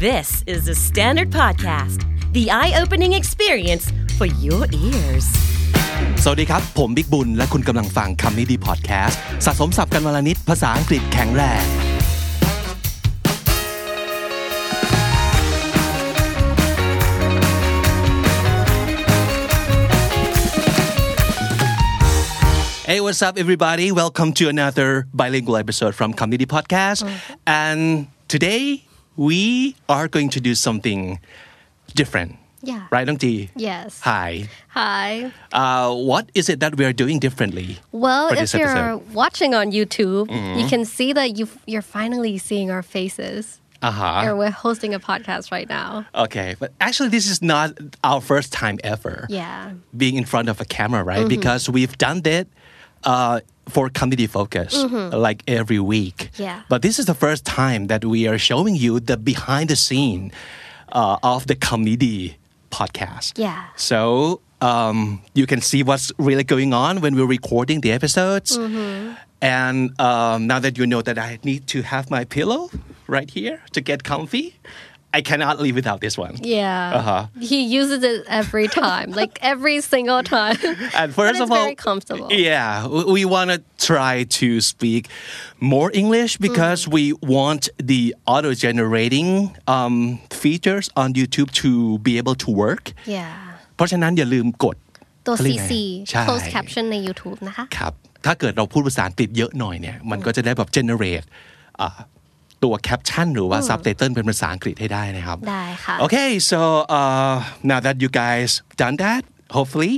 This is the Standard Podcast, the eye-opening experience for your ears. สวัสดีครับผมบิ๊กบุญและคุณกำลังฟังคำนี้ดีพอดแคสต์สะสมศัพท์กันวันละนิดภาษาอังกฤษแข็งแรง Hey, what's up, everybody? Welcome to another bilingual episode from Community Podcast. And today we are going to do something different. Yeah. Right, Nong Ji? Yes. Hi. Hi. What is it that we are doing differently? Well, for if this you're episode? watching on YouTube, you can see that you're finally seeing our faces. And we're hosting a podcast right now. Okay, but actually this is not our first time ever. Yeah. Being in front of a camera, right? Because we've done that for Community Focus, like every week. Yeah. But this is the first time that we are showing you the behind the scene of the Community podcast. Yeah. So you can see what's really going on when we're recording the episodes. And now that you know that I need to have my pillow right here to get comfy, I cannot live without this one. Yeah. He uses it every time, like every single time. And first but of all, very comfortable. Yeah, we want to try to speak more English because we want the auto-generating features on YouTube to be able to work. Yeah. เพราะฉะนั้นอย่าลืมกดตัวเขาเรียกไง CC ใช่ closed caption ใน YouTube นะคะครับถ้าเกิดเราพูดภาษาอังกฤษเยอะหน่อยเนี่ยมันก็จะได้แบบ generate ตัว caption หรือว่า subtitle เป็นภาษาอังกฤษให้ได้นะครับได้ค่ะ Okay, so now that you guys done that, hopefully,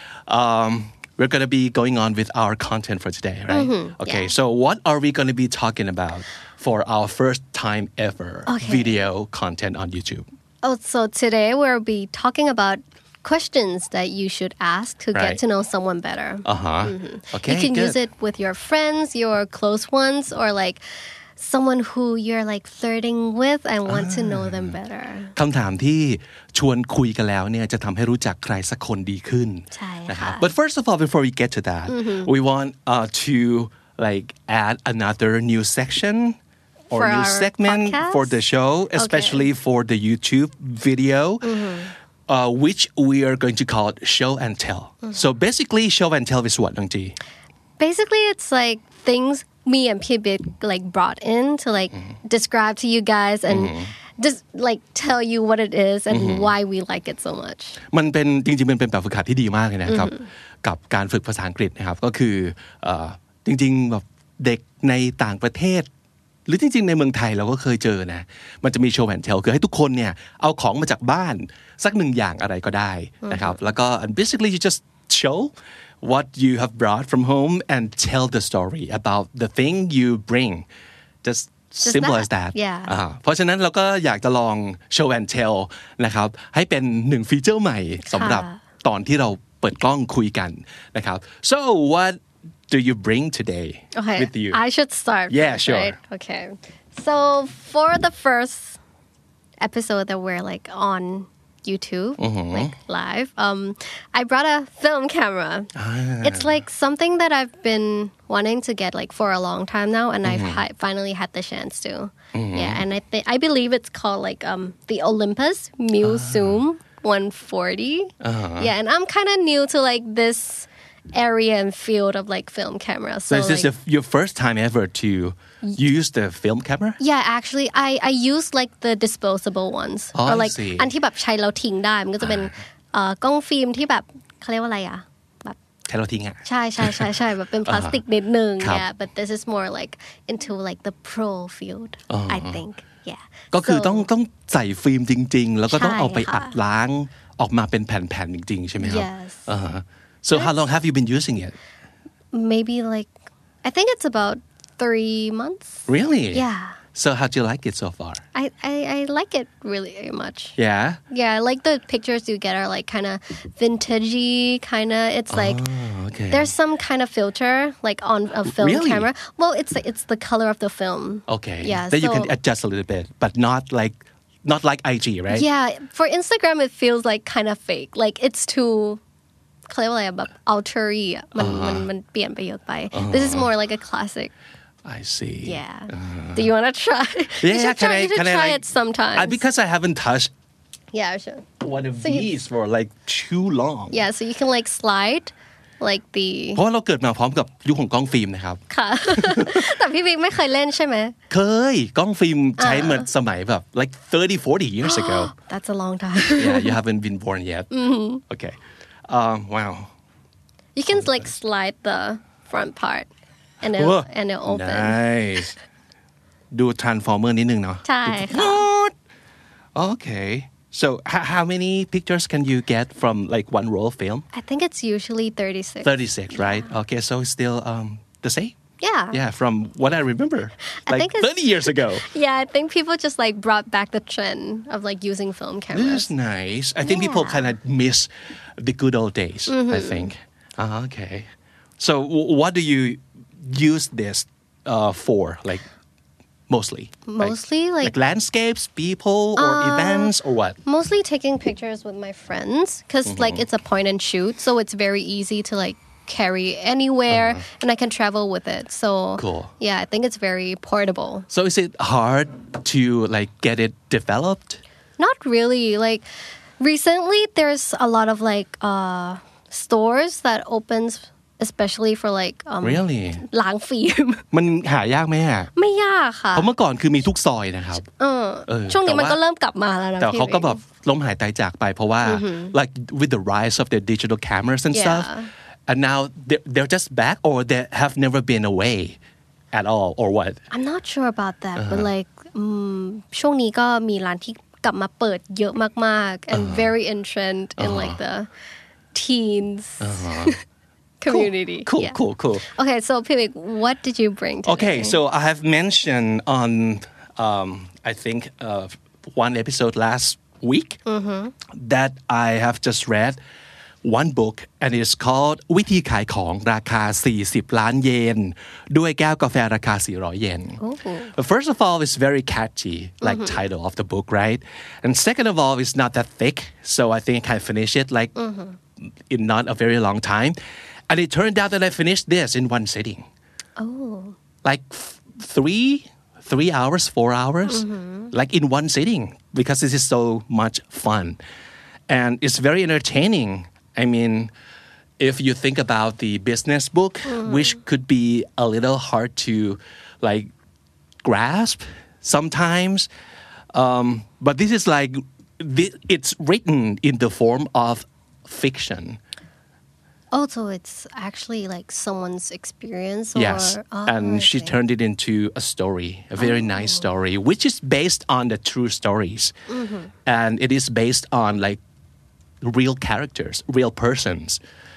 we're going to be going on with our content for today, right? Okay, so what are we going to be talking about for our first time ever video content on YouTube? Oh, so today we'll be talking about questions that you should ask to get to know someone better. Okay, you can good. use it with your friends, your close ones, or like someone who you're like flirting with and want to know them better. คำถามที่ชวนคุยกันแล้วเนี่ยจะทำให้รู้จักใครสักคนดีขึ้นใช่ค่ะนะครับ But first of all, before we get to that, we want to like add another new section or For new our segment podcast? for the show, especially for the YouTube video, which we are going to call it Show and Tell. So basically, Show and Tell is what, Nong Ji? Basically, it's like things me and Pibit like brought in to like describe to you guys and just like tell you what it is and why we like it so much. มันเป็นจริงๆมันเป็นแบบฝึกหัดที่ดีมากเลยนะครับกับการฝึกภาษาอังกฤษนะครับก็คือจริงๆแบบเด็กในต่างประเทศหรือจริงๆในเมืองไทยเราก็เคยเจอนะมันจะมีโชว์แอนด์เทลคือให้ทุกคนเนี่ยเอาของมาจากบ้านสักหนึ่งอย่างอะไรก็ได้นะครับแล้วก็ and basically you just show what you have brought from home and tell the story about the thing you bring just simple as that เพราะฉะนั้นเราก็อยากจะลอง show and tell นะครับให้เป็นหนึ่งฟีเจอร์ใหม่สำหรับตอนที่เราเปิดกล้องคุยกันนะครับ so what do you bring today with you I should start yeah sure right? Okay so for the first episode that we're like on YouTube like live I brought a film camera it's like something that I've been wanting to get like for a long time now and I've finally had the chance to yeah and I believe it's called like the Olympus Muse Zoom 140 yeah and I'm kind of new to like this area and field of like film camera so is this your first time ever to use the film camera yeah actually I use like the disposable ones or like อันที่แบบใช้แล้วทิ้งได้มันก็จะเป็นกล้องฟิล์มที่แบบเขาเรียกว่าอะไรอ่ะแบบใช้แล้วทิ้งอ่ะใช่แบบเป็นพลาสติกนิดนึง yeah but this is more like into like the pro field I think yeah ก็คือต้องใส่ฟิล์มจริงๆแล้วก็ต้องเอาไปอัดล้างออกมาเป็นแผ่นๆจริงๆใช่ไหมครับ yes so how long have you been using it maybe like I think it's about 3 months really yeah so how do you like it so far I like it really much yeah like the pictures you get are like kind of vintagey kind of it's like there's some kind of filter like on a film camera well it's the color of the film okay yeah then you can adjust a little bit but not like IG right yeah for Instagram it feels like kind of fake like it's too เขาเรียกว่าอะไรแบบ altery อ่ะมันเปลี่ยนไปเยอะไป this is more like a classic I see Yeah. Do you want to try? You should try it sometime. Because I haven't touched Yeah, sure. one of these for like too long Yeah, so you can like slide like the เพราะว่าเราเกิดมาพร้อมกับยุคของกล้องฟิล์มนะครับค่ะ แต่พี่บิ๊กไม่เคยเล่นใช่ไหมเคยกล้องฟิล์มใช้เหมือนสมัยแบบ like 30-40 years ago That's a long time Yeah you haven't been born yet Okay wow You can like slide the front part and it'll open Nice ดู Transformer นิดนึงเนาะใช่ค่ะ Okay So how many pictures can you get from like one roll of film? I think it's usually 36 36 right? Okay so it's still the same? Yeah from what I remember like 30 years ago Yeah I think people just like brought back the trend of like using film cameras This is nice I think people kind of miss the good old days I think Okay So what do you use this for like mostly like landscapes people or events or what mostly taking pictures with my friends because like it's a point and shoot so it's very easy to like carry anywhere and I can travel with it so cool yeah I think it's very portable So is it hard to like get it developed Not really like recently there's a lot of like stores that opens especially for like Really ล้างฟิล์มมันหายากไหมฮะไม่ยากค่ะเพราะเมื่อก่อนคือมีทุกซอยนะครับช่วงนี้มันก็เริ่มกลับมาแล้วนะแต่เขาก็แบบล้มหายตายจากไปเพราะว่า like with the rise of the digital cameras and stuff and now they're just back or they have never been away at all or what I'm not sure about that but like ช่วงนี้ก็มีร้านที่กลับมาเปิดเยอะมากๆ and very in trend in like the teens community Cool Okay so Pivik what did you bring today Okay so I have mentioned on I think one episode last week that I have just read one book and it's called วิธีขายของราคา40ล้านเยนด้วยแก้วกาแฟราคา400เยน First of all it's very catchy like title of the book right and second of all it's not that thick so I think I can finish it like in not a very long time and it turned out that I finished this in one sitting like 3 hours 4 hours like in one sitting because this is so much fun and it's very entertaining I mean if you think about the business book which could be a little hard to like grasp sometimes but this is like it's written in the form of fiction Oh, so it's actually like someone's experience or Yes and she turned it into a story a very nice story which is based on the true stories and it is based on like real characters real persons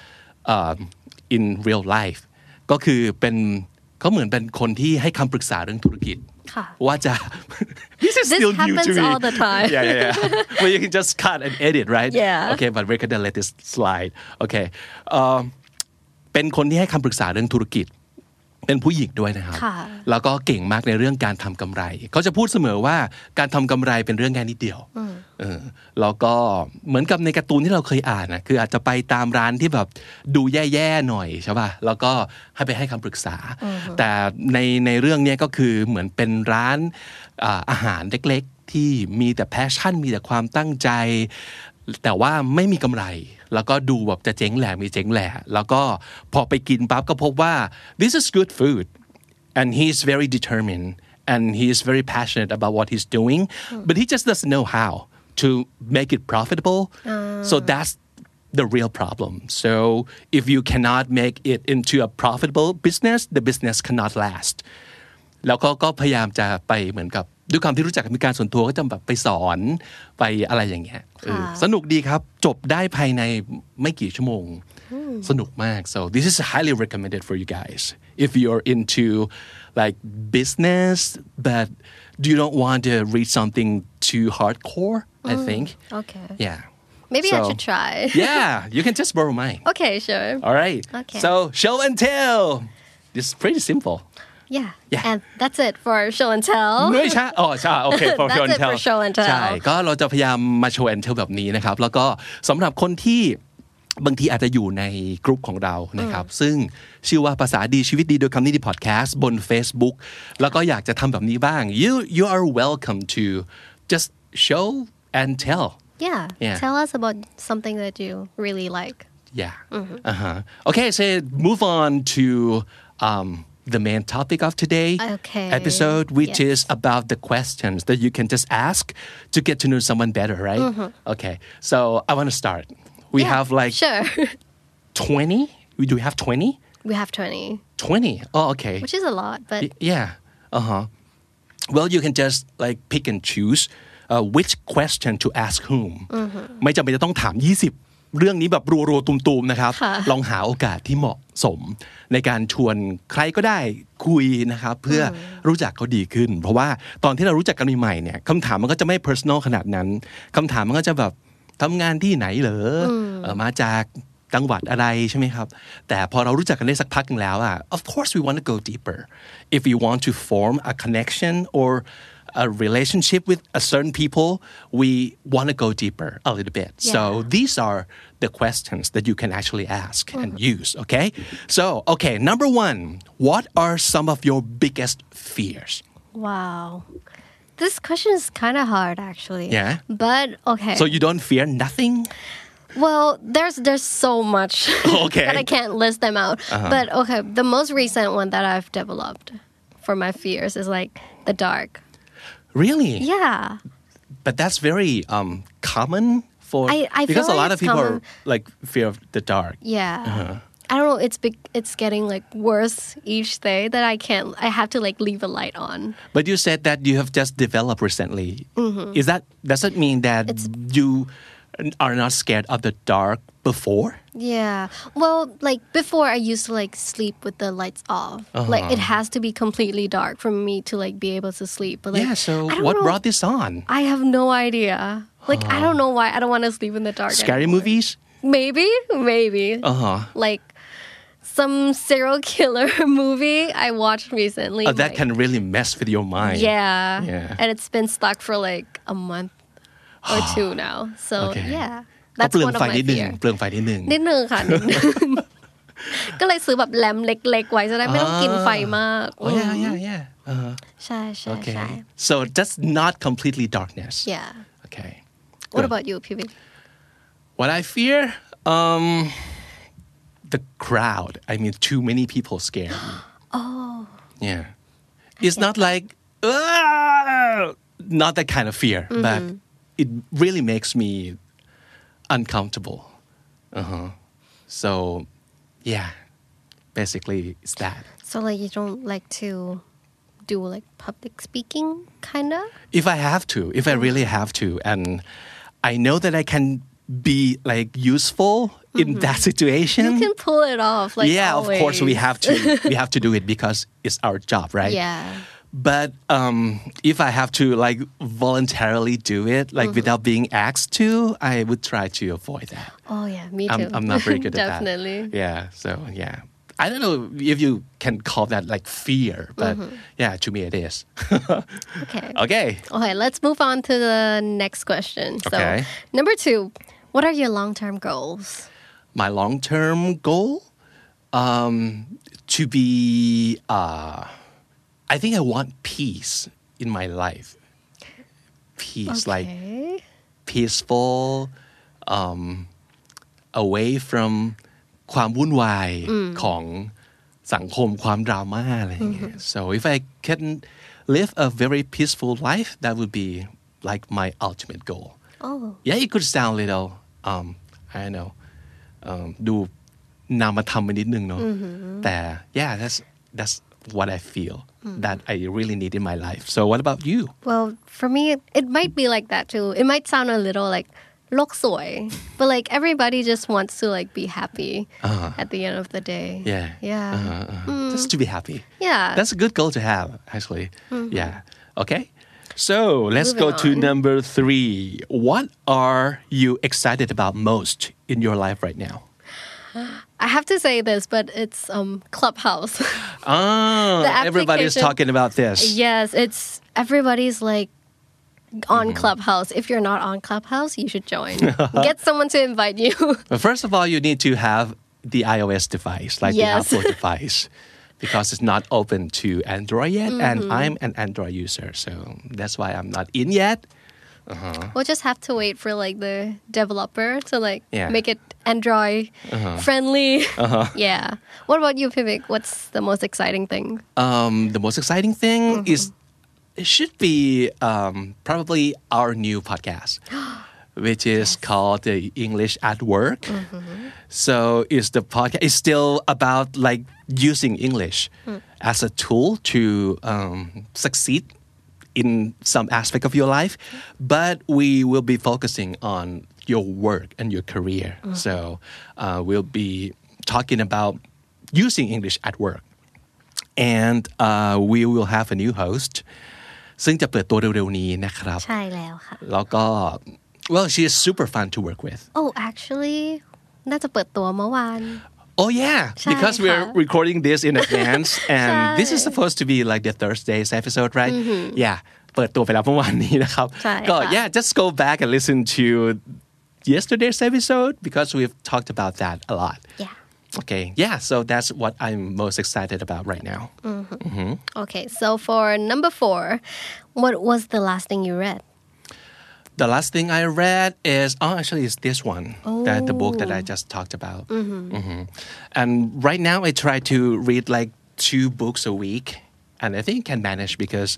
in real life ก็คือเป็นเขาเหมือนเป็นคนที่ให้คำปรึกษาเรื่องธุรกิจว่าจะ This is still new to me all the time yeah well you can just cut and edit right yeah okay but we're gonna let this slide okay เป็นคนที่ให้คำปรึกษาเรื่องธุรกิจเป็นผู้หญิงด้วยนะครับแล้วก็เก่งมากในเรื่องการทำกำไรเขาจะพูดเสมอว่าการทำกำไรเป็นเรื่องแค่นิดเดียวแล้วก็เหมือนกับในการ์ตูนที่เราเคยอ่านนะคืออาจจะไปตามร้านที่แบบดูแย่ๆหน่อยใช่ป่ะแล้วก็ให้คำปรึกษาแต่ในเรื่องนี้ก็คือเหมือนเป็นร้านอาหารเล็กๆที่มีแต่แพชชั่นมีแต่ความตั้งใจแต่ว่าไม่มีกำไรแล้วก็ดูแบบจะเจ๊งแหล่มีเจ๊งแหล่แล้วก็พอไปกินปั๊บก็พบว่า this is good food and he's very determined and he is very passionate about what he's doing but he just doesn't know how to make it profitable so that's the real problem so if you cannot make it into a profitable business the business cannot last แล้วก็พยายามจะไปเหมือนกับด้วยความที่รู้จักกันมีการส่วนตัวก็จะแบบไปสอนไปอะไรอย่างเงี้ยสนุกดีครับจบได้ภายในไม่กี่ชั่วโมงสนุกมาก so this is highly recommended for you guys if you're into like business but you don't want to read something too hardcore I think okay yeah maybe I should try yeah you can just borrow mine okay sure all right okay. so show and tell this is pretty simple Yeah. And that's it for show and tell ไม่ใช่ใช่โอเค for show and tell That's it for show and tell ใช่ก็เราจะพยายามมา show and tell แบบนี้นะครับแล้วก็สำหรับคนที่บางทีอาจจะอยู่ในกลุ่มของเรานะครับซึ่งชื่อว่าภาษาดีชีวิตดีโดยคำนี้ดีพอดแคสต์บน Facebook แล้วก็อยากจะทำแบบนี้บ้าง you are welcome to just show and tell Yeah. Tell us about something that you really like. Yeah. Okay, so move on to the main topic of today's episode, which is about the questions that you can just ask to get to know someone better, right? Okay, so I want to start. We have like 20. Do we have 20? We have 20. 20. Oh, okay. Which is a lot, but yeah. Well, you can just like pick and choose which question to ask whom. ไม่จำเป็นจะต้องถาม20เรื่องนี้แบบรัวๆตุมๆนะครับลองหาโอกาสที่เหมาะสมในการชวนใครก็ได้คุยนะครับเพื่อรู้จักเขาดีขึ้นเพราะว่าตอนที่เรารู้จักกันใหม่ๆเนี่ยคำถามมันก็จะไม่ personal ขนาดนั้นคำถามมันก็จะแบบทำงานที่ไหนเหรอมาจากจังหวัดอะไรใช่ไหมครับแต่พอเรารู้จักกันได้สักพักนึงแล้วอ่ะ of course we want to go deeper if we want to form a connection or a relationship with a certain people we want to go deeper a little bit so these are the questions that you can actually ask and use okay so okay number 1 what are some of your biggest fears wow this question is kind of hard actually but okay so you don't fear nothing well there's so much that I can't list them out but okay the most recent one that I've developed for my fears is like the dark Really? Yeah. But that's very common for I because feel a like lot of people are like fear of the dark. Yeah. I don't know. It's getting like worse each day that I have to like leave a light on. But you said that you have just developed recently. Does that mean that you are not scared of the dark before? Yeah. Well, like before I used to like sleep with the lights off. Like it has to be completely dark for me to like be able to sleep. But like so what brought this on? I have no idea. Like I don't know why I don't want to sleep in the dark. Scary movies? Maybe. Like some serial killer movie I watched recently. Oh, that can really mess with your mind. Yeah. And it's been stuck for like a month or 2 now. So yeah. That's one of my fears. เปลืองไฟนิดนึงค่ะนิดนึงก็เลยซื้อแบบแลมเล็กๆไว้จะได้ไม่ต้องกินไฟมาก yeah ใช่ใช่ใช่ so that's not completely darkness yeah okay what about you PV what I fear the crowd I mean too many people scare me yeah it's not like not that kind of fear but it really makes me uncomfortable so yeah basically it's that so like you don't like to do like public speaking kind of if I really have to and I know that I can be like useful in that situation you can pull it off like always. Of course we have to do it because it's our job right but if I have to like voluntarily do it like without being asked to I would try to avoid that me too I'm not very good at definitely that so I don't know if you can call that like fear but to me it is okay let's move on to the next question so number 2 what are your long-term goals my long-term goal to be I think I want peace in my life. Peace, like peaceful, away from ความวุ่นวายของสังคมความดราม่าอะไรอย่างเงี้ย So if I can live a very peaceful life, that would be like my ultimate goal. Yeah, it could sound a little, I don't know, ดูนามธรรมไปนิดนึงเนาะแต่ yeah, that's what I feel that I really need in my life. So what about you? Well, for me, it might be like that too. It might sound a little like โลกสวย but like everybody just wants to like be happy at the end of the day. Just to be happy. Yeah. That's a good goal to have, actually. Yeah. Okay. So let's Moving go to on. number 3. What are you excited about most in your life right now? I have to say this, but it's Clubhouse. Everybody's talking about this. Yes, it's everybody's like on Clubhouse. If you're not on Clubhouse, you should join. Get someone to invite you. But first of all, you need to have the iOS device, like Yes. the Apple device, because it's not open to Android yet, and I'm an Android user, so that's why I'm not in yet. We'll just have to wait for like the developer to like Yeah. make it Android friendly. Yeah. What about you, Vivek? What's the most exciting thing? The most exciting thing is it should be probably our new podcast, which is called the English at Work. So it's the podcast. It's still about like using English as a tool to succeed in some aspect of your life, but we will be focusing on your work and your career. So we'll be talking about using English at work. And we will have a new host ซึ่งจะเปิดตัวเร็วๆนี้นะครับใช่แล้วค่ะแล้วก็ well she is super fun to work with Oh, actually น่าจะเปิดตัวเมื่อวาน Oh yeah, because we're recording this in advance, and this is supposed to be like the Thursday's episode, right? Yeah, เปิดตัวไปแล้วเมื่อวานนี้นะครับใช่ก็ค่ะ yeah, just go back and listen to yesterday's episode because we've talked about that a lot. Yeah. Okay, yeah, so that's what I'm most excited about right now. Okay, so for number 4, what was the last thing you read? The last thing I read is actually it's this one, that the book that I just talked about. And right now I try to read like 2 books a week, and I think I can manage because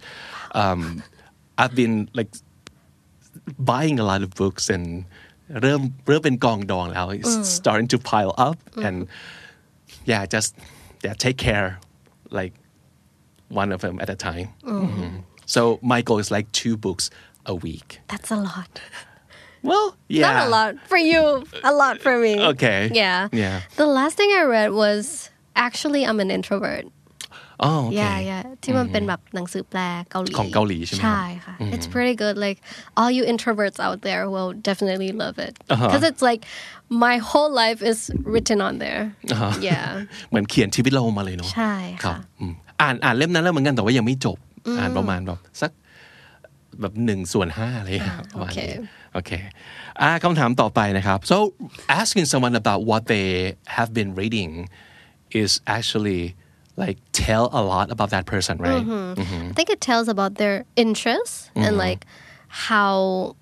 I've been like buying a lot of books and เริ่มเป็นกองดองแล้ว it's starting to pile up and just take care like one of them at a time. So my goal is like 2 books a week. That's a lot. Well, yeah. Not a lot for you, a lot for me. Okay. Yeah. Yeah. The last thing I read was actually I'm an introvert. Oh, okay. Yeah. ที่มันเป็นแบบหนังสือแปลเกาหลีของเกาหลีใช่ไหมครับใช่ค่ะ It's pretty good. Like all you introverts out there will definitely love it. Because it's like my whole life is written on there. Yeah. เหมือนเขียนชีวิตเรามาเลยเนาะใช่ครัค่ะบอ่านเล่มนั้นแล้วเหมือนกันแต่ว่ายังไม่จบอ่านประมาณแบบสักแบบ1/5อะไรอย่างเงี้ยครับประมาณนี้โอเคคำถามต่อไปนะครับ so asking someone about what they have been reading is actually like tell a lot about that person, right? I think it tells about their interests and like how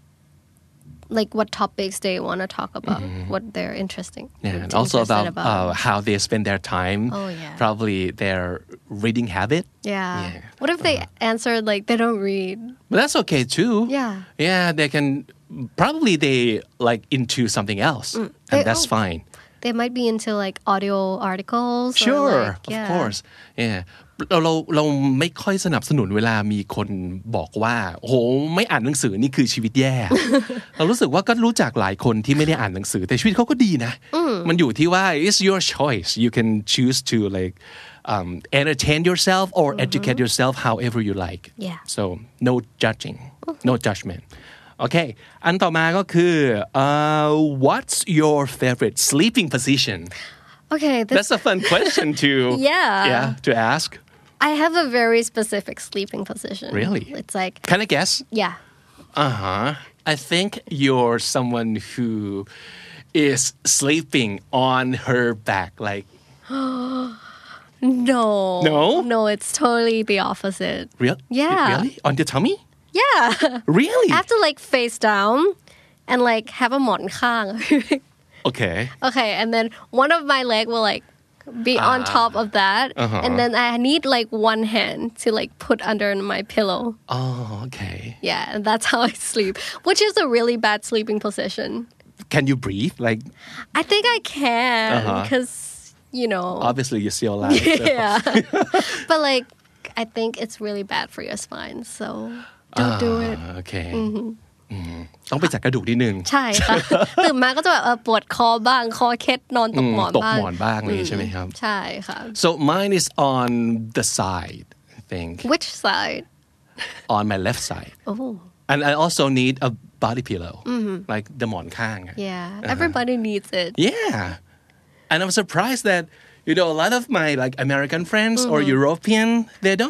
like what topics they want to talk about, what they're interesting. Yeah, and also about how they spend their time. Oh, yeah. Probably their reading habit. Yeah. What if they answered like they don't read? But that's okay too. Yeah. Yeah, they can probably they like into something else, and that's fine. They might be into like audio articles. Sure, or like, of course. Yeah. เราไม่ค่อยสนับสนุนเวลามีคนบอกว่าโหไม่อ่านหนังสือนี่คือชีวิตแย่ เรารู้สึกว่าก็รู้จักหลายคนที่ไม่ได้อ่านหนังสือแต่ชีวิตเขาก็ดีนะมันอยู่ที่ว่า it's your choice you can choose to like entertain yourself or educate yourself however you like Yeah. so no judging no judgment Okay อันต่อมาก็คือ what's your favorite sleeping position Okay, That's a fun question to to ask. I have a very specific sleeping position. Really? It's like Can I guess? Yeah. I think you're someone who is sleeping on her back, like. No, it's totally the opposite. Yeah. Really? On your tummy? Yeah. Really? I have to like face down and like have a หมอนข้าง Okay, and then one of my leg will like be on top of that, and then I need like one hand to like put under my pillow. Oh, okay. Yeah, and that's how I sleep, which is a really bad sleeping position. Can you breathe? Like, I think I can, because you know. Obviously, you're still alive. Yeah, but like I think it's really bad for your spine, so don't do it. Okay. ต้องไปจัดกระดูกนิดนึงใช่ค่ะ ตื่นมาก็จะแบบปวดคอบ้างคอเคล็ดนอนตกหมอนตกบ้างหมอนบ้างเลยใช่ไหมครับใช่ค่ะ So mine is on the side, I think. Which side? On my left side. Oh. And I also need a body pillow, like the หมอนข้าง Yeah, everybody needs it. Yeah. And I'm surprised that, you know, a lot of my like American friends or European, they don't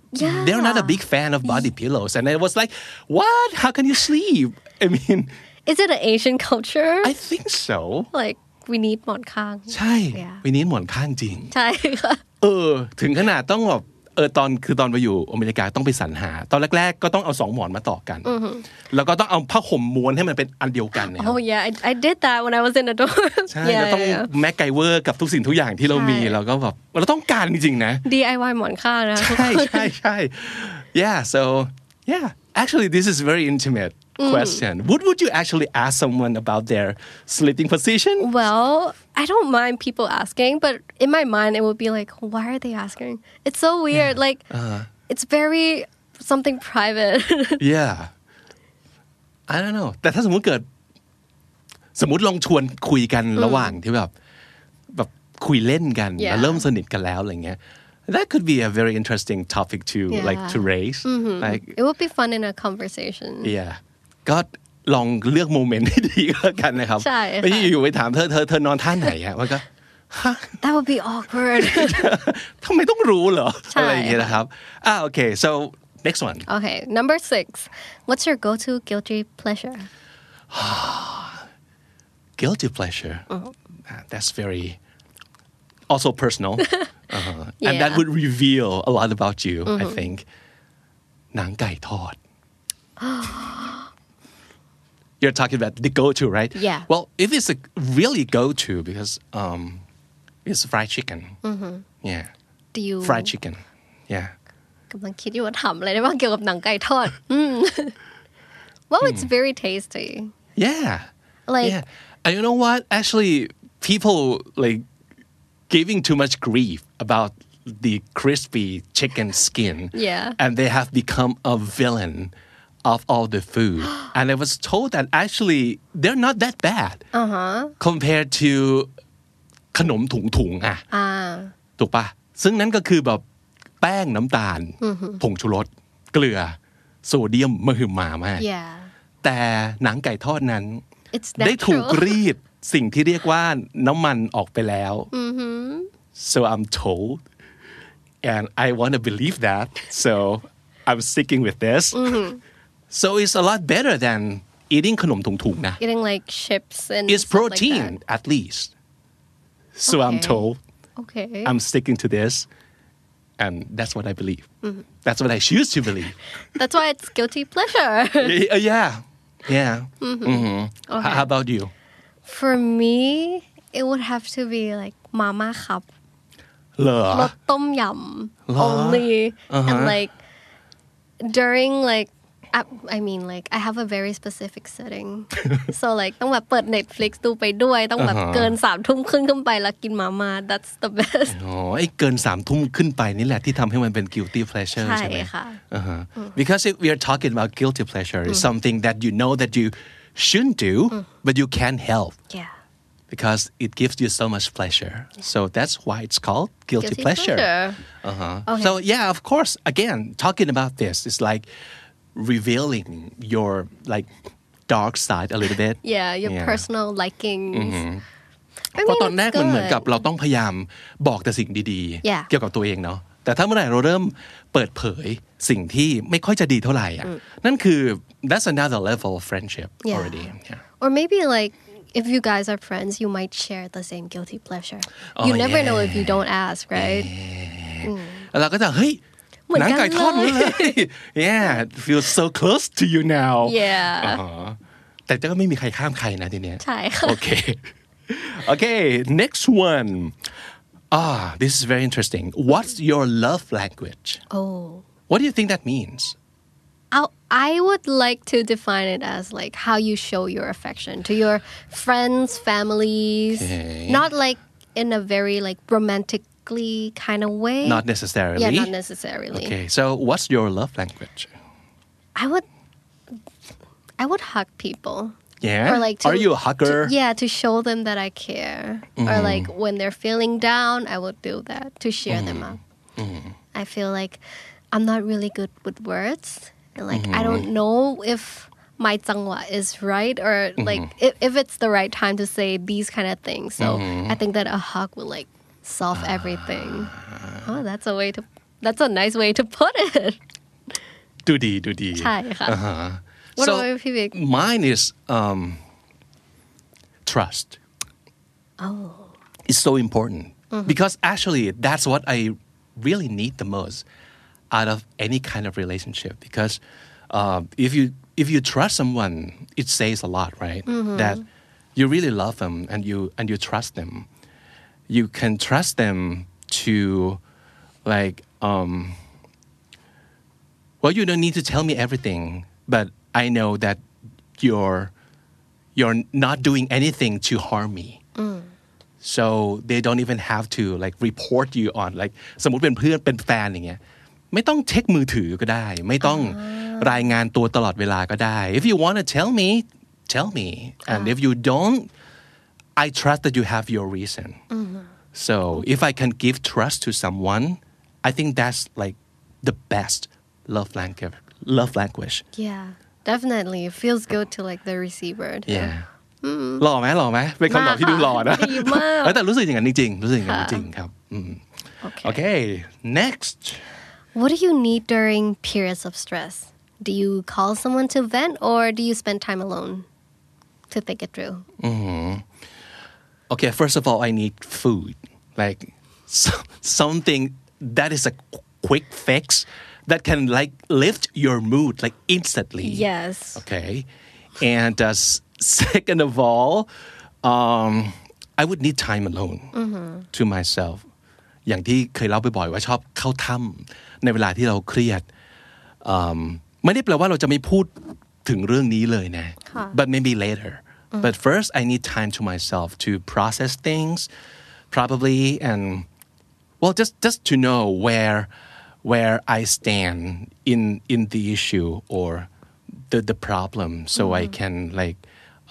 Yeah. they're not a big fan of body pillows. And I was like, what? How can you sleep? I mean, Is it an Asian culture? I think so. Like we need หมอนข้างใช่ Yeah. วันนี้หมอนข้างจริงใช่ค่ะถึงขนาดต้องแบบตอนไปอยู่อเมริกาต้องไปสรรหา ตอนแรกๆก็ต้องเอา2หมอนมาต่อกัน แล้วก็ต้องเอาผ้าห่มม้วนให้มันเป็นอันเดียวกันเนี่ย Oh yeah, I did that when I was in the dorm. ใช่แล้วต้องแม็กไกเวอร์กับทุกสิ่งทุกอย่างที่เรามีเราก็แบบเราต้องการจริงๆนะ DIY หมอนข้างนะใช่ yeah so yeah actually this is very intimate question would you actually ask someone about their sleeping position Well, I don't mind people asking, but in my mind it would be like, why are they asking? It's so weird. Like it's very something private. yeah I don't know แต่ถ้าสมมุติลองชวนคุยกันระหว่างที่แบบคุยเล่นกัน Yeah. แล้วเริ่มสนิทกันแล้วอะไรเงี้ย that could be a very interesting topic to like to raise like It would be fun in a conversation. yeah ก็ลองเลือกโมเมนต์ให้ดีก็แล้วกันนะครับใช่ค่ะไม่ใช่อยู่ไปถามเธอนอนท่าไหนอะว่าก็ That would be awkward. ทำไมต้องรู้เหรอใช่อะไรอย่างเงี้ยนะครับokay so next one Okay, number 6. What's your go-to guilty pleasure? guilty pleasure that's very also personal and that Yeah. would reveal a lot about you I think หนังไก่ทอด You're talking about the go-to, right? Yeah. Well, if it's a really go-to because it's fried chicken. Yeah. Do you Fried chicken. Yeah. กำลังคิดอยู่ว่าถามอะไรได้บ้างเกี่ยวกับหนังไก่ทอด Well, it's very tasty. Yeah. Like- yeah. And you know what? Actually, people like giving too much grief about the crispy chicken skin. Yeah. And they have become a villain of all the food. And I was told that actually they're not that bad compared to ขนมถุงๆอ่ะถูกปะซึ่งนั้นก็คือแบบแป้งน้ำตาลผงชูรสเกลือโซเดียมมหึมามาก Yeah. แต่หนังไก่ทอดนั้น It's ได้ถูก natural. รีดสิ่งที่เรียกว่าน้ำมันออกไปแล้ว so I'm told and I want to believe that so I'm sticking with this so it's a lot better than eating ขนมถุงๆนะ Eating like chips and it's stuff like protein that. at least so I'm Okay. told Okay. I'm sticking to this and that's what I believe that's what I choose to believe That's why it's guilty pleasure. yeah Okay. how about you For me, it would have to be like mama cup. เหรอรสต้มยำ only and like during like I mean like I have a very specific setting so like ต้องแบบเปิด Netflix ดูไปด้วยต้องแบบเกิน3 ทุ่มครึ่งขึ้นไปแล้วกินมาม่า that's the best ไอ้เกิน3 ทุ่มขึ้นไปนี่แหละที่ทำให้มันเป็น guilty pleasure ใช่ไหมใช่ค่ะ because if we are talking about guilty pleasure it's something that you know that you shouldn't do but you can't help yeah because it gives you so much pleasure so that's why it's called guilty pleasure Okay. so yeah of course again talking about this is like revealing your like dark side a little bit yeah your personal likings I เพราะ mean, ตอนแรก it's มันเหมือน good. กับเราต้องพยายามบอกแต่สิ่งดี Yeah. เกี่ยวกับตัวเองเนาะแต่ถ้าเมื่อไหร่เราเริ่มเปิดเผยสิ่งที่ไม่ค่อยจะดีเท่าไหร่อ่ะนั่นคือ that's another level of friendship Yeah. already yeah. Or maybe like if you guys are friends you might share the same guilty pleasure you never know if you don't ask right แล้วเราก็จะเฮ้ยเหมือนหนักันงไก่ทอดเลยเลย yeah it feels so close to you now yeah แต่ก็ไม่มีใครข้ามใครนะทีเนี้ยใช่ค่ะ Okay next one this is very interesting what's your love language oh what do you think that means I would like to define it as like how you show your affection to your friends, families, Okay. not like in a very like romantically kind of way. not necessarily Yeah, not necessarily. okay so what's your love language I would hug people. yeah Or like are you a hugger to show them that I care. Or like when they're feeling down, I would do that to cheer them up. I feel like I'm not really good with words. And like I don't know if my zangwa is right or like if it's the right time to say these kind of things. So I think that a hug will like solve everything. Oh, that's a way to that's a nice way to put it ดูดีใช่ค่ะ What so about you, Vivek? mine is trust is so important because actually that's what I really need the most out of any kind of relationship because if you trust someone it says a lot right that you really love them and you trust them you can trust them to like well you don't need to tell me everything but I know that you're not doing anything to harm me so they don't even have to like report you on like สมมุติเป็นเพื่อนเป็นแฟนอย่างเงี้ยไม่ต้องเช็คมือถือก็ได้ไม่ต้องรายงานตัวตลอดเวลาก็ได้ if you want to tell me and if you don't I trust that you have your reason so if I can give trust to someone I think that's like the best love language Yeah definitely it feels good to like the receiver yeah หล่อไหมเป็นคำตอบที่ดูหล่อนะดีมากแต่รู้สึกอย่างนั้นจริงๆรู้สึกอย่างนั้นจริงครับOkay next What do you need during periods of stress? Do you call someone to vent or do you spend time alone to think it through? Okay first of all I need food like something that is a quick fix that can like lift your mood like instantly Yes okay and second of all I would need time alone to myself อย่างที่เคยเล่าบ่อยๆว่าชอบเข้าถ้ำในเวลาที่เราเครียดไม่ได้แปลว่าเราจะไม่พูดถึงเรื่องนี้เลยนะ but maybe later but first I need time to myself to process things probably and well just to know where I stand in the issue or the problem so I can like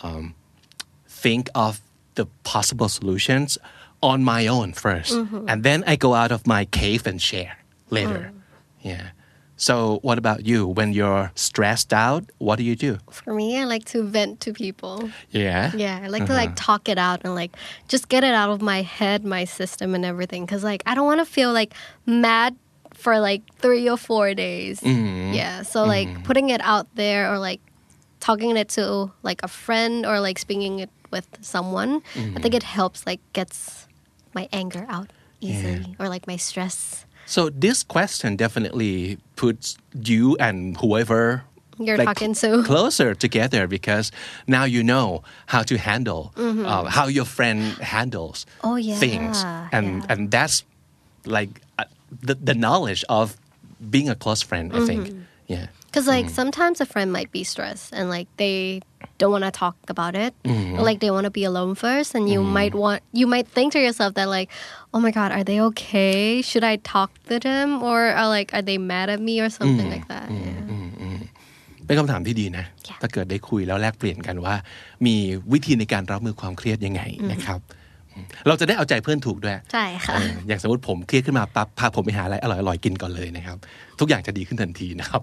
think of the possible solutions on my own first and then I go out of my cave and share later yeah so what about you when you're stressed out what do you do For me I like to vent to people yeah I like to like talk it out and like just get it out of my head my system and everything because like I don't want to feel like mad for like 3 or 4 days yeah so like putting it out there or like talking it to like a friend or like speaking it with someone I think it helps like gets my anger out easily or like my stress so this question definitely puts you and whoever you're like, talking to closer together because now you know how to handle how your friend handles things and that's like the knowledge of being a close friend I think yeah because like sometimes a friend might be stressed and like they don't want to talk about it or like they want to be alone first and you might think to yourself that like oh my god are they okay should I talk to them or are they mad at me or something like that เป็นคำถามที่ดีนะถ้าเกิดได้คุยแล้วแลกเปลี่ยนกันว่ามีวิธีในการรับมือความเครียดยังไงนะครับเราจะได้เอาใจเพื่อนถูกด้วยใช่ค่ะอย่างสมมติผมเครียดขึ้นมาปั๊บพาผมไปหาอะไรอร่อยๆกินก่อนเลยนะครับทุกอย่างจะดีขึ้นทันทีนะครับ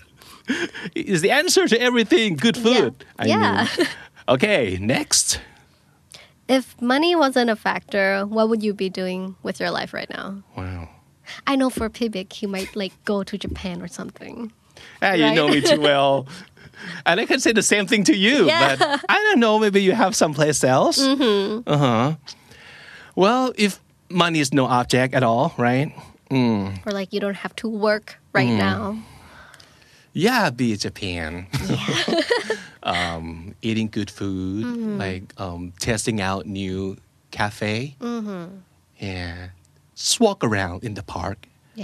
is the answer to everything good food I mean okay next if money wasn't a factor what would you be doing with your life right now wow I know for Pibik he might like go to Japan or something you know me too well and I can say the same thing to you but I don't know maybe you have someplace else well if money is no object at all right or like you don't have to work right now be Japan eating good food like testing out new cafe just walk around in the park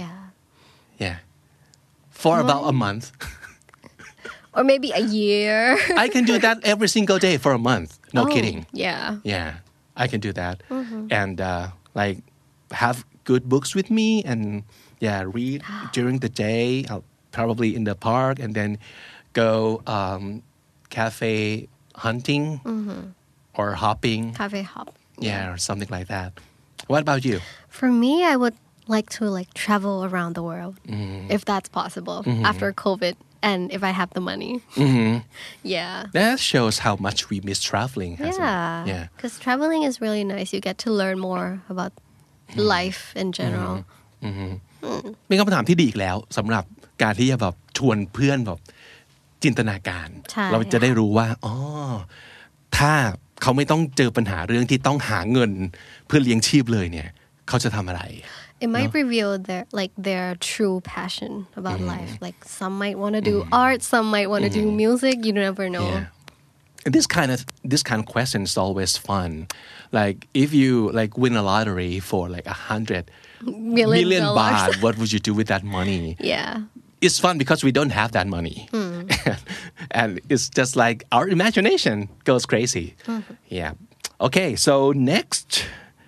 for about a month or maybe a year I can do that every single day for a month no kidding yeah I can do that and like have good books with me and read during the day I'll probably in the park and then go cafe hunting or hopping cafe hop or something like that what about you for me I would like to like travel around the world if that's possible after COVID and if I have the money that shows how much we miss traveling because traveling is really nice you get to learn more about life in general เป็นคำถามที่ดีอีกแล้วสำหรับการที่จะแบบชวนเพื่อนแบบจินตนาการเราจะได้รู้ว่าอ๋อถ้าเขาไม่ต้องเจอปัญหาเรื่องที่ต้องหาเงินเพื่อเลี้ยงชีพเลยเนี่ยเขาจะทำอะไร It might reveal their true passion about life. Like some might want to do art, some might want to do music. You never know. And this kind of question is always fun. Like if you like win a lottery for like 100 million baht, what would you do with that money? Yeah. It's fun because we don't have that money. And it's just like our imagination goes crazy. Yeah. Okay, so next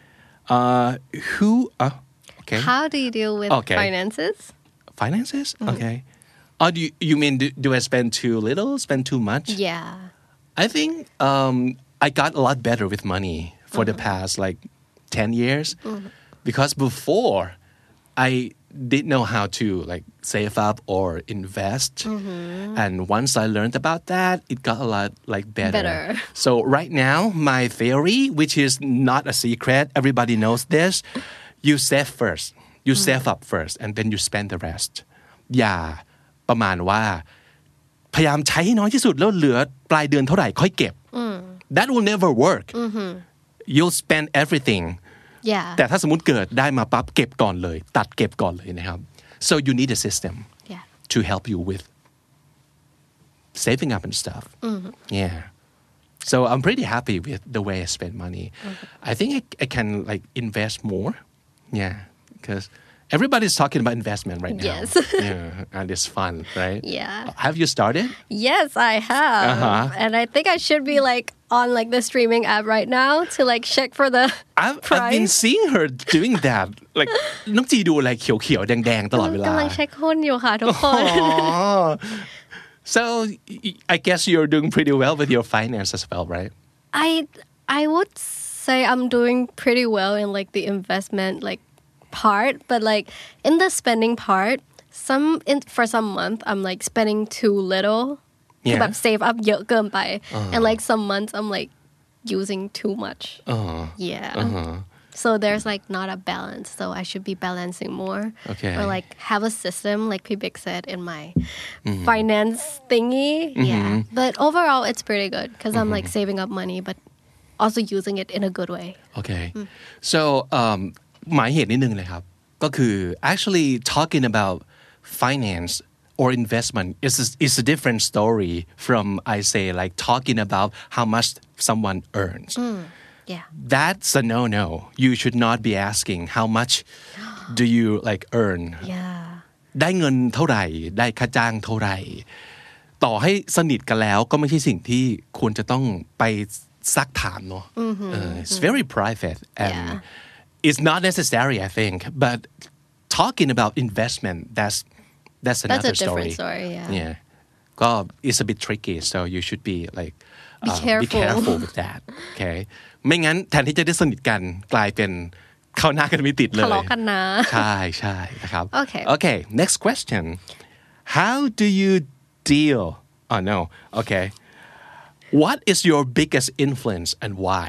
okay. How do you deal with finances? Finances? Okay. Or do you mean do I spend too little, spend too much? Yeah. I think I got a lot better with money for the past like 10 years because before I didn't know how to like save up or invest and once I learned about that it got a lot like better. So right now my theory, which is not a secret, everybody knows this, you save first, you save up first and then you spend the rest. อย่าประมาณว่าพยายามใช้ให้น้อยที่สุดแล้วเหลือปลายเดือนเท่าไหร่ค่อยเก็บ That will never work. You'll spend everything. Yeah. แต่ถ้าสมมุติเกิดได้มาปั๊บเก็บก่อนเลยตัดเก็บก่อนเลยนะครับ So you need a system to help you with saving up and stuff. Yeah. So I'm pretty happy with the way I spend money. I think I can like invest more. Yeah, because everybody's talking about investment right now. Yes. Yeah, and it's fun, right? Yeah. Have you started? Yes, I have. And I think I should be like on like the streaming app right now to like check for the I've price. been seeing her doing that. Like น้องจีดูอะไรเขียวๆแดงๆตลอดเวลากำลังเช็คหุ้นอยู่ค่ะทุกคน So I guess you're doing pretty well with your finance as well, right? I would say I'm doing pretty well in like the investment like part, but like in the spending part, for some month I'm like spending too little. คือแบบ save up เยอะเกินไป and like some months I'm like using too much. Yeah. So there's like not a balance. So I should be balancing more. Okay. Or like have a system, like P-Big said, in my finance thingy. Yeah. But overall, it's pretty good because I'm like saving up money, but also using it in a good way. Okay. So หมายเหตุนิดนึงเลยครับก็คือ actually talking about finance or investment is a different story from I say like talking about how much someone earns. Yeah. That's a no-no. You should not be asking how much do you like earn. Yeah. ได้เงินเท่าไหร่ได้ค่าจ้างเท่าไหร่ต่อให้สนิทกันแล้วก็ไม่ใช่สิ่งที่ควรจะต้องไปซักถามเนาะ It's very private and it's not necessary I think but talking about investment that's another different story. Yeah. ก็ it's a bit tricky so you should be like be careful with that okay ไม่งั้นแทนที่จะได้สนิทกันกลายเป็นเข้าหน้ากันไม่ติดเลยทะเลาะกันนะใช่นะครับ Okay next question how do you deal okay what is your biggest influence and why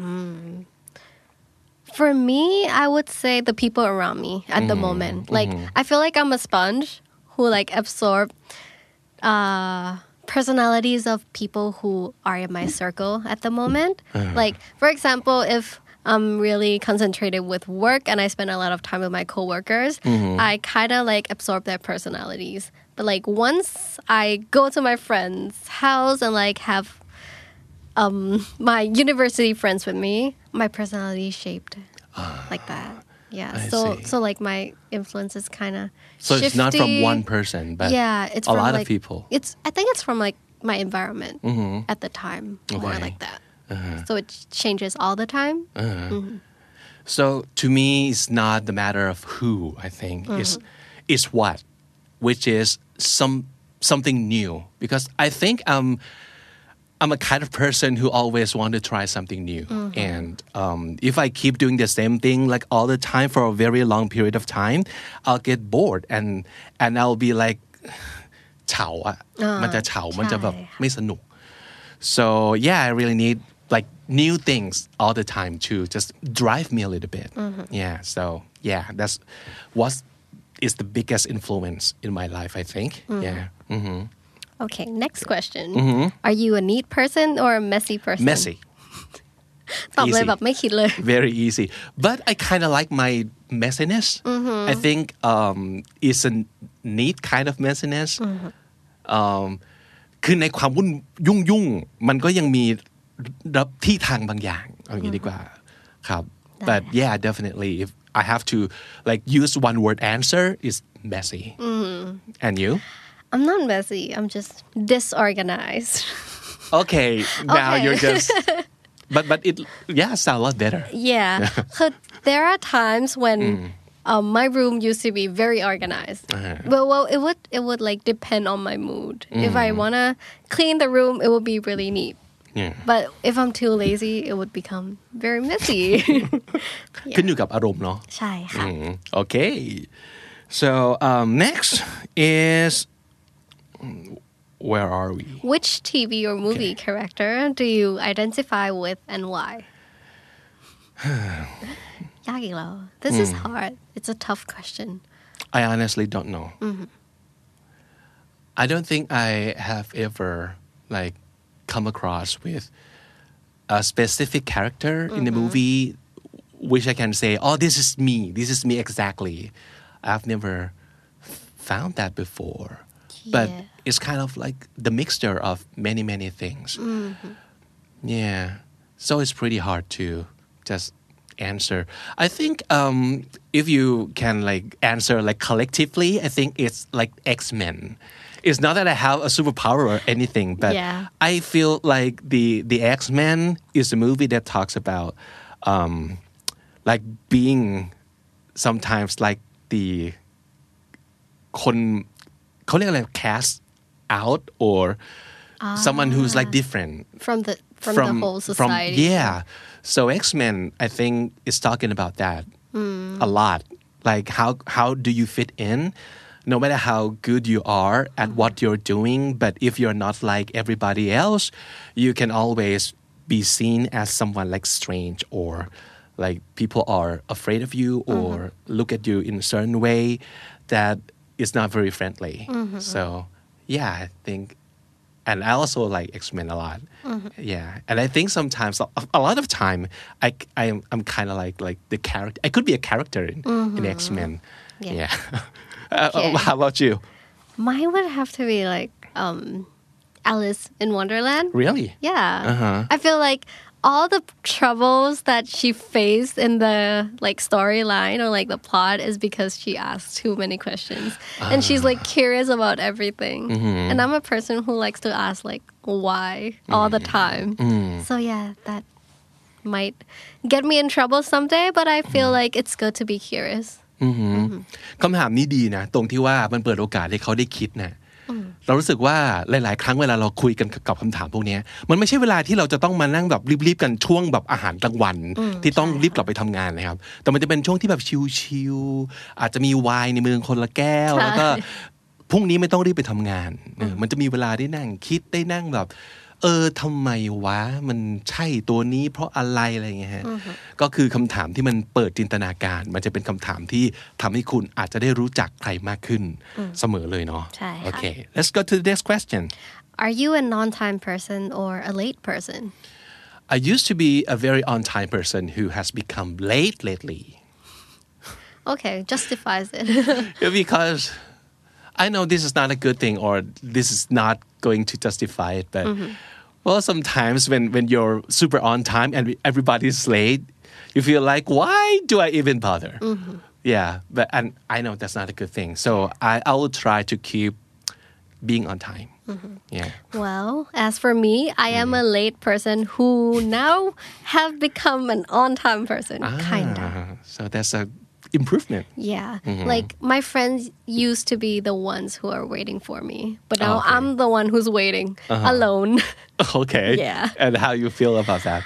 For me, I would say the people around me at the moment. Like, I feel like I'm a sponge who like absorb personalities of people who are in my circle at the moment. Like, for example, if I'm really concentrated with work and I spend a lot of time with my coworkers, I kind of like absorb their personalities. But like once I go to my friend's house and like have my university friends with me, my personality is shaped like that. Yeah. So like my influence is kind of So it's not from one person, but it's a from lot like, of people. I think it's from like my environment at the time, more like that. So it changes all the time. So to me, it's not the matter of who. I think it's what, which is something new. Because I think I'm a kind of person who always want to try something new. And if I keep doing the same thing like all the time for a very long period of time, I'll get bored and I'll be like เฉาอะมันจะเฉามันจะแบบไม่สนุก So yeah, I really need like new things all the time to just drive me a little bit. Yeah, so yeah, that's what's is the biggest influence in my life I think yeah Okay, next question. Are you a neat person or a messy person? messy ตอบเลย Easy. แบบไม่คิดเลย very easy but I kind of like my messiness I think it's a neat kind of messiness คือในความวุ่นยุ่งมันก็ยังมีที่ทางบางอย่างเอาอย่างนี้ดีกว่าครับ but yeah definitely if I have to like use one word answer is messy and you I'm not messy. I'm just disorganized. okay now Okay. you're just but it sound a lot better Yeah. 'Cause there are times when my room used to be very organized. Well, it would like depend on my mood. If I wanna clean the room, it would be really neat. yeah But if I'm too lazy, it would become very messy. ขึ้นอยู่กับอารมณ์เนาะใช่ค่ะ Okay. So next is where are we? Which TV or movie character do you identify with and why? ยากอีกแล้ว This is hard. It's a tough question. I honestly don't know. I don't think I have ever like come across with a specific character in the movie which I can say, oh, this is me. This is me exactly. I've never found that before. But it's kind of like the mixture of many things. Yeah. So it's pretty hard to just answer. I think if you can like answer like collectively, I think it's like X-Men. It's not that I have a superpower or anything, but I feel like the X-Men is a movie that talks about like being sometimes like the คนเขาเรียกอะไร cast out or someone who's like different from the whole society. So X-Men I think is talking about that a lot like how do you fit in no matter how good you are at what you're doing but if you're not like everybody else you can always be seen as someone like strange or like people are afraid of you or look at you in a certain way that is not very friendly so yeah I think and I also like X-Men a lot yeah and I think sometimes a lot of time I'm kind of like the character I could be a character in X-Men yeah how about you Mine would have to be like Alice in Wonderland. really Yeah. I feel like all the troubles that she faced in the like storyline or like the plot is because she asked too many questions and she's like curious about everything and I'm a person who likes to ask like why all the time so yeah that might get me in trouble someday but I feel like it's good to be curious คำถามนี้ดีนะตรงที่ว่ามันเปิดโอกาสให้เขาได้คิดนะเรารู้สึกว่าหลายๆครั้งเวลาเราคุยกันกับคำถามพวกนี้มันไม่ใช่เวลาที่เราจะต้องมานั่งแบบรีบๆกันช่วงแบบอาหารกลางวันที่ต้องรีบกลับไปทำงานนะครับแต่มันจะเป็นช่วงที่แบบชิลๆอาจจะมีไวน์ในมือคนละแก้วแล้วก็พรุ่งนี้ไม่ต้องรีบไปทำงานมันจะมีเวลาได้นั่งคิดได้นั่งแบบทำไมวะมันใช่ตัวนี้เพราะอะไรอะไรเงี้ยฮะก็คือคำถามที่มันเปิดจินตนาการมันจะเป็นคำถามที่ทำให้คุณอาจจะได้รู้จักใครมากขึ้นเสมอเลยเนาะใช่ค่ะ Okay let's go to the next question Are you a non-time person or a late person? I used to be a very on-time person who has become late lately Okay, justifies it. because I know this is not a good thing or this is not going to justify it but well sometimes when you're super on time and everybody's late you feel like why do I even bother yeah but and I know that's not a good thing so I will try to keep being on time yeah Well, as for me, I am a late person who now have become an on-time person, kind of. So that's a improvement Yeah, like my friends used to be the ones who are waiting for me, but now Okay. I'm the one who's waiting alone. okay Yeah. and how you feel about that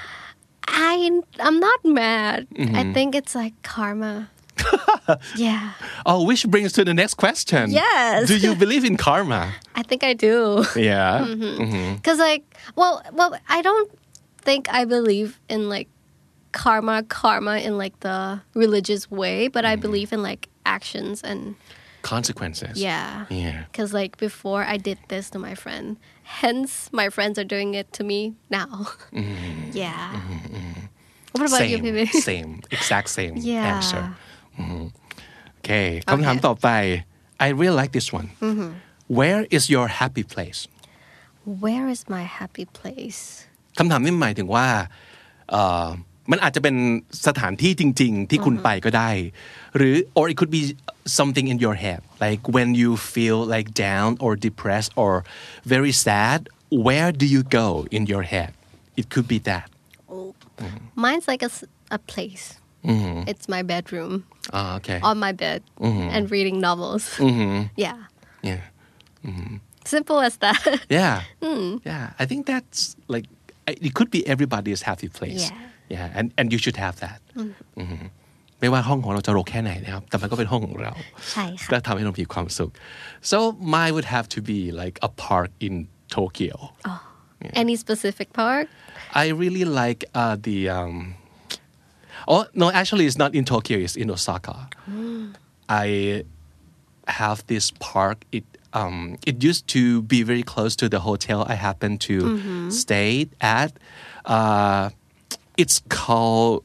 I'm not mad. I think it's like karma. Yeah, oh which brings to the next question Yes. do you believe in karma I think I do. yeah Cause like, well, I don't think I believe in like karma in like the religious way, but I believe in like actions and consequences yeah yeah because like before I did this to my friend hence my friends are doing it to me now yeah what about you same Pibi? same exact same Yeah. answer โอเคคำถามต่อไป I really like this one Where is your happy place Where is my happy place คำถามนี้หมายถึงว่ามันอาจจะเป็นสถานที่จริงๆที่คุณไปก็ได้หรือ or it could be something in your head like when you feel like down or depressed or very sad where do you go in your head it could be that mine's like a place it's my bedroom okay on my bed and reading novels yeah yeah simple as that yeah yeah I think that's like it could be everybody's happy place Yeah. and you should have that ไม่ว่าห้องของเราจะรกแค่ไหนนะครับแต่มันก็เป็นห้องของเราใช่ค่ะและทำให้เรามีความสุข so mine would have to be like a park in Tokyo Any specific park I really like the oh no actually it's not in Tokyo it's in Osaka I have this park it used to be very close to the hotel I happened to stay at it's called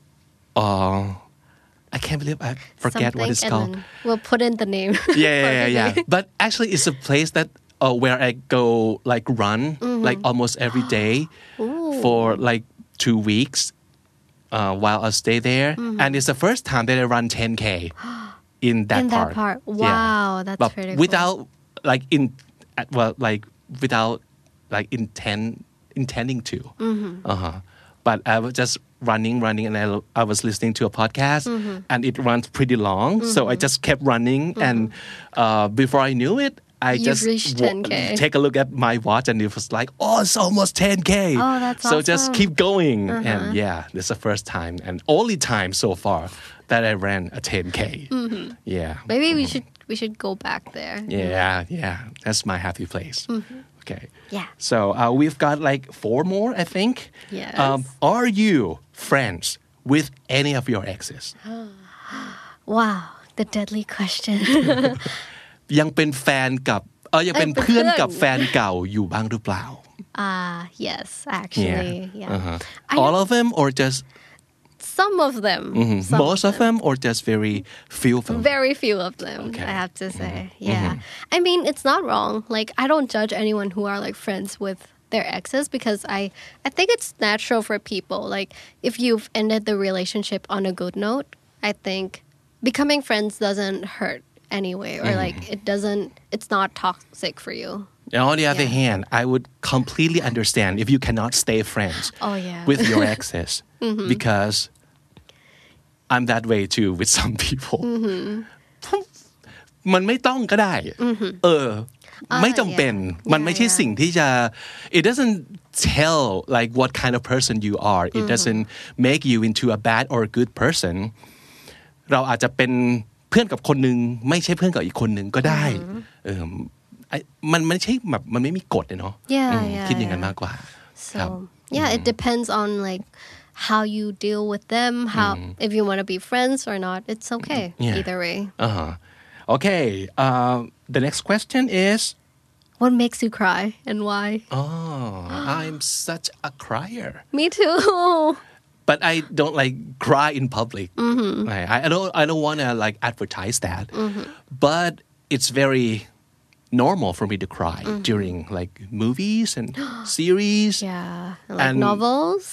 I can't believe I forget what it's and called then we'll put in the name yeah but actually it's a place that where I go like run like almost every day for like 2 weeks while I stay there and it's the first time that I run 10K in that park wow that's but pretty without like without like intending to but I was just running and I was listening to a podcast and it runs pretty long so I just kept running and before I knew it I You've just reached 10K. Take a look at my watch and it was like oh it's almost 10K Oh, that's so just awesome. keep going and yeah this is the first time and only time so far that I ran a 10K yeah maybe we should go back there yeah that's my happy place okay Yeah. so we've got like 4 more I think Yes. Are you friends with any of your exes wow the deadly question ยังเป็นแฟนกับยังเป็นเพื่อนกับแฟนเก่าอยู่บ้างหรือเปล่า yes actually yeah all of them or just some of them some most of them or just very few of them very few of them Okay. I have to say yeah I mean it's not wrong like I don't judge anyone who are like friends with their exes because I think it's natural for people like if you've ended the relationship on a good note I think becoming friends doesn't hurt anyway or like it's not toxic for you And on the other hand I would completely understand if you cannot stay friends with your exes because I'm that way too with some people มันไม่ต้องก็ได้ไม่จำเป็นมันไม่ใช่สิ่งที่จะ it doesn't tell like what kind of person you are it doesn't make you into a bad or a good person เราอาจจะเป็นเพื่อนกับคนนึงไม่ใช่เพื่อนกับอีกคนนึงก็ได้มันไม่ใช่แบบมันไม่มีกฎเนาะคิดอย่างนั้นมากกว่า so yeah it depends on like how you deal with them how if you want to be friends or not it's okay either way okay the next question is what makes you cry and why I'm such a crier me too but I don't like cry in public I don't want to like advertise that but it's very normal for me to cry during like movies and series like novels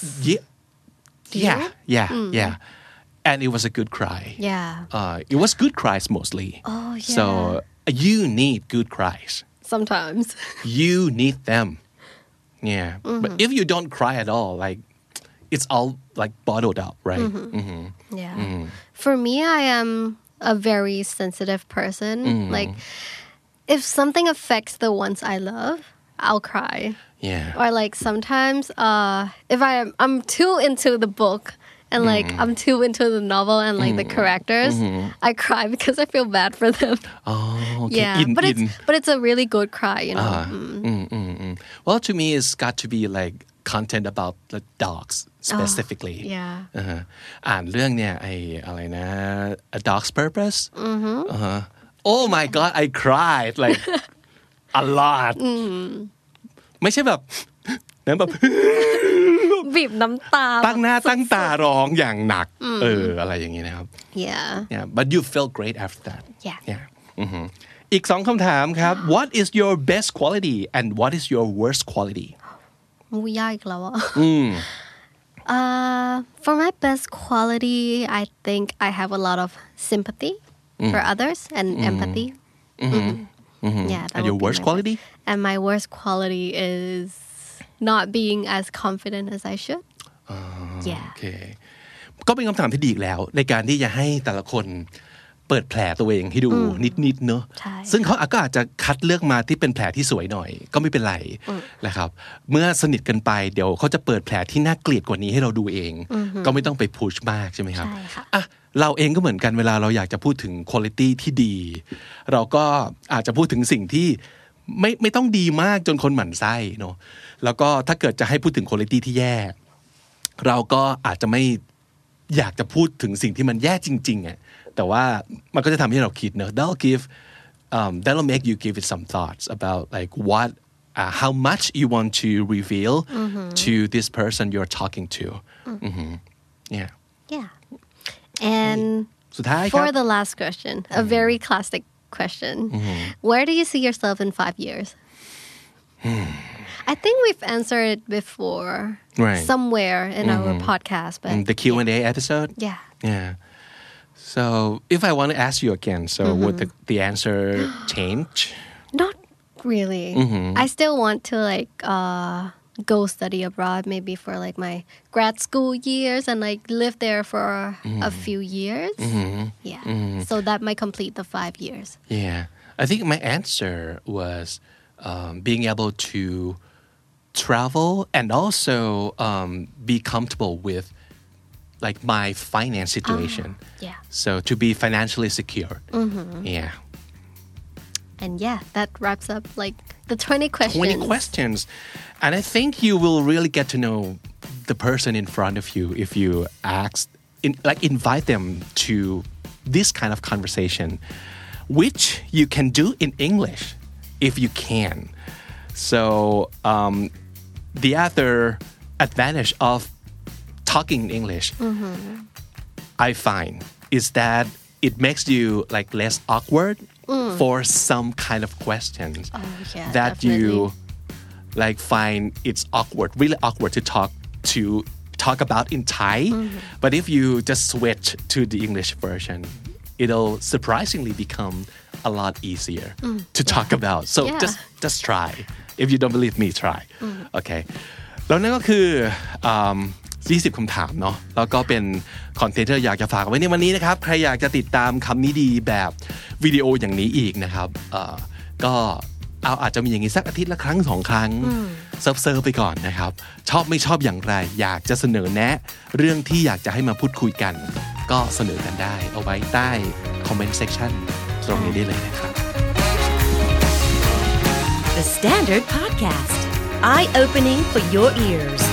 yeah and it was a good cry it was good cries mostly so you need good cries sometimes you need them but if you don't cry at all like it's all like bottled up right for me I am a very sensitive person like if something affects the ones I love I'll cry or like sometimes if I'm too into the book and like I'm too into the novel and like the characters I cry because I feel bad for them okay. but it's a really good cry you know well to me it's got to be like content about the dogs specifically yeah อ่านเรื่องเนี่ยไอ้อะไรนะ A Dog's Purpose oh my god I cried like a lot ไม่ใช่แบบนั้นแบบบีบน้ำตาตั้งหน้าตั้งตาร้องอย่างหนักอะไรอย่างนี้นะครับ yeah but you felt great after that yeah อีก2คำถามครับ What is your best quality and what is your worst quality ยากอีกแล้วอ่ะfor my best quality I think I have a lot of sympathy for others and empathy yeah and your worst quality and my worst quality is not being as confident as I should yeah โอเคก็เป็นคำถามที่ดีอีกแล้วในการที่จะให้แต่ละคนเปิดแผลตัวเองให้ดูนิดๆเนอะซึ่งเขาก็อาจจะคัดเลือกมาที่เป็นแผลที่สวยหน่อยก็ไม่เป็นไรนะครับเมื่อสนิทกันไปเดี๋ยวเขาจะเปิดแผลที่น่าเกลียดกว่านี้ให้เราดูเองก็ไม่ต้องไปพุชมากใช่ไหมครับอ่ะเราเองก็เหมือนกันเวลาเราอยากจะพูดถึงคุณภาพที่ดีเราก็อาจจะพูดถึงสิ่งที่ไม่ต้องดีมากจนคนหมั่นไส้เนอะแล้วก็ถ้าเกิดจะให้พูดถึงคุณภาพที่แย่เราก็อาจจะไม่อยากจะพูดถึงสิ่งที่มันแย่จริงๆอ่ะแต่ว่ามันก็จะทำให้เราคิดเนอะ that'll make you give it some thoughts about like what how much you want to reveal to this person you're talking to yeah and สุดท้ายครับ for the last question a very classic question where do you see yourself in 5 years I think we've answered it before somewhere in our podcast but the Q&A episode yeah so if I want to ask you again so would the answer change not really I still want to like go study abroad maybe for like my grad school years and like live there for a few years so that might complete the 5 years I think my answer was being able to travel and also be comfortable with like my finance situation so to be financially secure and that wraps up like the 20 questions and I think you will really get to know the person in front of you if you invite them to this kind of conversation which you can do in English if you can so the other advantage of talking in English I find is that it makes you like less awkward for some kind of questions that definitely. you like find it's really awkward to talk about in Thai but if you just switch to the English version it'll surprisingly become a lot easier to talk about so just try if you don't believe me try okay แล้วนั่นก็คือ20 คำถามเนาะแล้วก็เป็นคอนเทนต์ที่อยากจะฝากไว้ในวันนี้นะครับใครอยากจะติดตามคำนี้ดีแบบวิดีโออย่างนี้อีกนะครับก็อาจจะมีอย่างนี้สักอาทิตย์ละครั้ง2 ครั้งเซิร์ฟไปก่อนนะครับชอบไม่ชอบอย่างไรอยากจะเสนอแนะเรื่องที่อยากจะให้มาพูดคุยกันก็เสนอกันได้เอาไว้ใต้คอมเมนต์เซกชันตรงนี้ได้เลยนะครับ The Standard Podcast Eye Opening for Your Ears